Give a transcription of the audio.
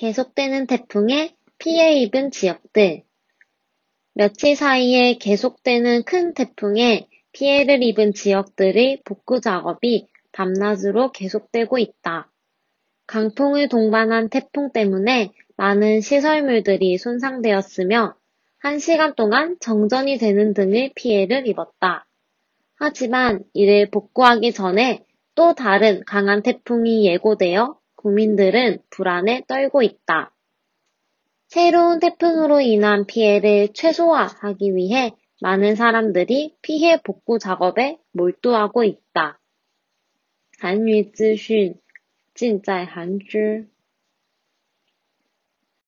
계속되는 태풍에 피해 입은 지역들. 며칠 사이에 계속되는 큰 태풍에 피해를 입은 지역들의 복구 작업이 밤낮으로 계속되고 있다. 강풍을 동반한 태풍 때문에 많은 시설물들이 손상되었으며 1시간 동안 정전이 되는 등의 피해를 입었다. 하지만 이를 복구하기 전에 또 다른 강한 태풍이 예고되어 국민들은 불안에 떨고 있다. 새로운 태풍으로 인한 피해를 최소화하기 위해 많은 사람들이 피해 복구 작업에 몰두하고 있다. 韩语资讯尽在韩知